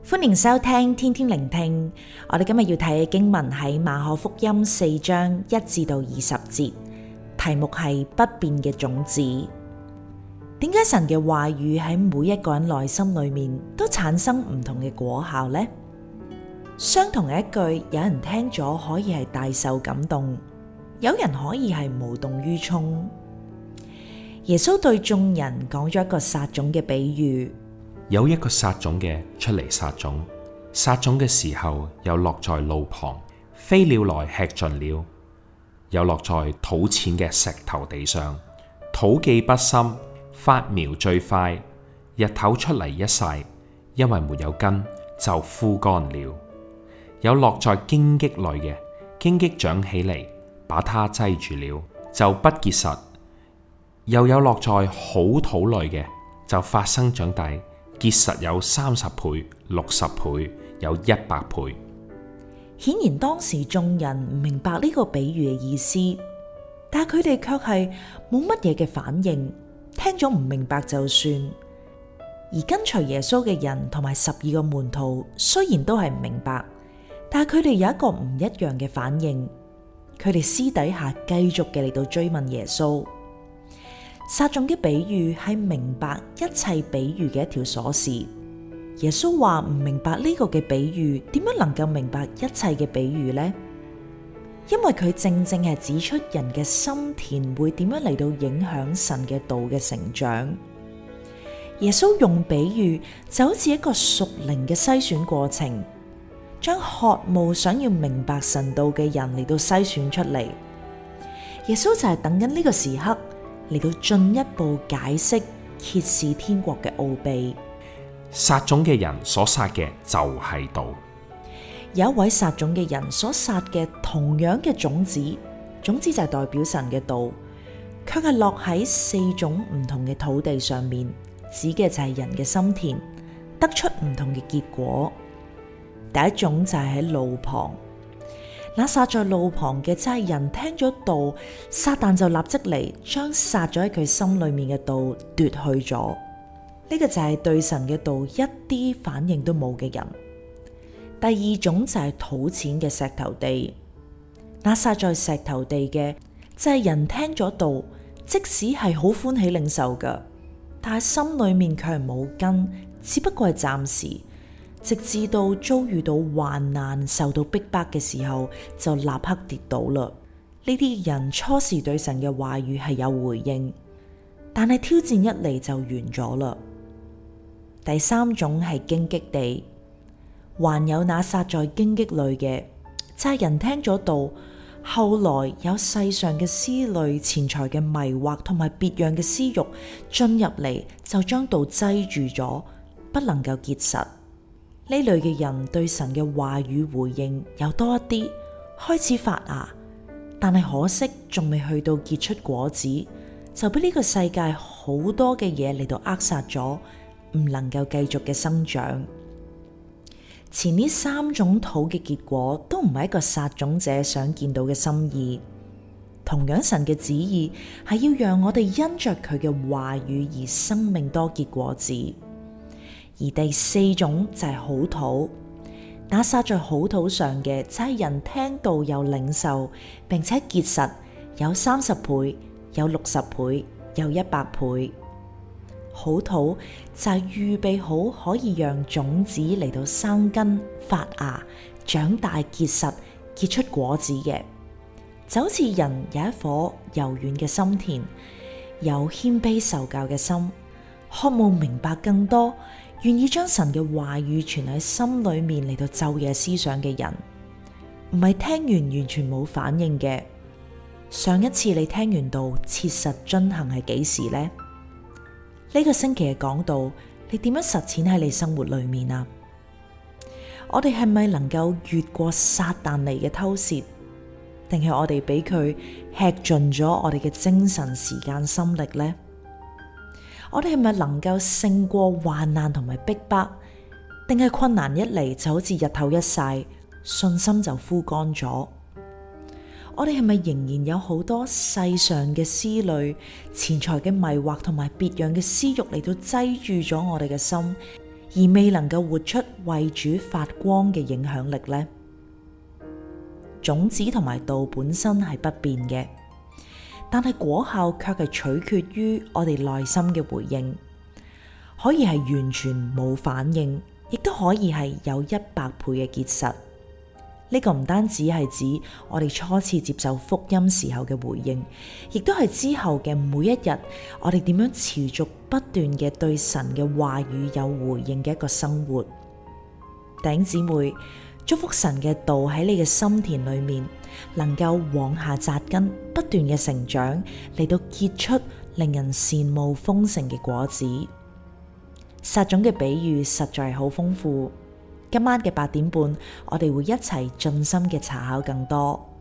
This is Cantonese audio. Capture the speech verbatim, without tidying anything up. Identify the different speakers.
Speaker 1: 歡迎收聽天天聆聽。我哋今日要睇嘅經文喺馬可福音四章一至到二十節，題目係不變嘅種子。點解神嘅話語喺每一個人內心裏面都產生唔同嘅果效呢？相同嘅一句，有人聽咗可以係大受感動，有人可以係無動於衷。耶穌對眾人講咗一個撒種嘅比喻。
Speaker 2: 有一個撒種嘅出嚟撒種，撒種嘅時候有落在路旁，飛鳥來吃盡了；有落在土淺嘅石頭地上，土既不深，發苗最快，日頭出嚟一曬，因為沒有根，就枯乾了；有落在荊棘裏嘅，荊棘長起嚟，把它擠住了，就不結實；又有落在好土裏嘅，就發生長大，結實有三十倍、六十倍，有一百倍。
Speaker 1: 顯然當時眾人唔明白呢個比喻嘅意思，但係佢哋卻係冇乜嘢嘅反應，聽咗唔明白就算。而跟隨耶穌嘅人同埋十二個門徒雖然都係唔明白，但係佢哋有一個唔一樣嘅反應，佢哋私底下繼續嘅嚟到追問耶穌。撒種嘅比喻係明白一切比喻嘅一條鎖匙。耶穌話唔明白呢個嘅比喻，點樣能夠明白一切嘅比喻呢？因為佢正正係指出人嘅心田會點樣嚟到影響神嘅道嘅成長。耶穌用比喻就好似一個屬靈嘅篩選過程，將渴慕想要明白神道嘅人嚟到篩選出嚟。耶穌就係等緊呢個時刻，嚟到進一步解釋揭示天國嘅奧秘。
Speaker 2: 撒種嘅人所撒嘅就係道。
Speaker 1: 有一位撒種嘅人所撒嘅同樣嘅種子，種子就係代表神嘅道，卻係落喺四種唔同嘅土地上面，指嘅就係人嘅心田，得出唔同嘅結果。第一種就係喺路旁。那撒在路旁嘅，就係人聽咗道，撒旦就立即嚟將撒咗喺佢心裏面嘅道奪去咗。呢個就係對神嘅道一啲反應都冇嘅人。第二種就係土淺嘅石頭地。那撒在石頭地嘅，就係人聽咗道，即使係好歡喜領受㗎，但係心裏面卻係冇根，只不過係暫時。直至到遭遇到患難、受到逼迫嘅時候，就立刻跌倒啦。呢啲人初時對神嘅話語係有回應，但係挑戰一嚟就完咗啦。第三種係荊棘地，還有那撒在荊棘裏嘅，就係人聽咗道，後來有世上嘅思慮、錢財嘅迷惑同埋別樣嘅私欲進入嚟，就將道擠住咗，不能夠結實。呢類嘅人對神嘅話語回應又多一啲，開始發芽，但係可惜仲未去到結出果子，就俾呢個世界好多嘅嘢嚟到扼殺咗，唔能夠繼續嘅生長。前呢三種土嘅結果都唔係一個撒種者想見到嘅心意。同樣神嘅旨意係要讓我哋因着佢嘅話語而生命多結果子。而第四種就係好土，那撒在好土上嘅，就係人聽道又領受，並且結實，有三十倍，有六十倍，有一百倍。好土就係預備好可以讓種子嚟到生根、發芽、長大、結實、結出果子嘅，就好似人有一顆柔軟嘅心田，有謙卑受教嘅心，渴慕明白更多，願意將神嘅話語存喺心裏面嚟到晝夜思想嘅人，唔係聽完完全冇反應嘅。上一次你聽完道切實遵行係幾時呢？呢個星期嘅講道，你點樣實踐喺你生活裏面啊？我哋係咪能夠越過撒旦嚟嘅偷竊，定係我哋俾佢吃盡咗我哋嘅精神、時間、心力呢？我哋係咪能夠勝過患難同埋逼迫，定係困難一嚟就好似日頭一曬，信心就枯乾咗？我哋係咪仍然有好多世上嘅思慮、錢財嘅迷惑同埋別樣嘅私欲嚟到擠住咗我哋嘅心， 而未能夠活出為主發光嘅影響力呢？種子同埋道本身係不變嘅，但係果效卻係取決於我哋內心嘅回應，可以係完全冇反應，亦都可以係有一百倍嘅結實。呢個唔單止係指我哋初次接受福音時候嘅回應，亦都係之後嘅每一日，我哋點樣持續不斷嘅對神嘅話語有回應嘅一個生活。弟兄姊妹，祝福神嘅道喺你嘅心田裏面，能夠往下扎根，不斷嘅成長，嚟到結出令人羨慕豐盛嘅果子。撒種嘅比喻實在係好豐富。今晚嘅八點半，我哋會一齊盡心嘅查考更多。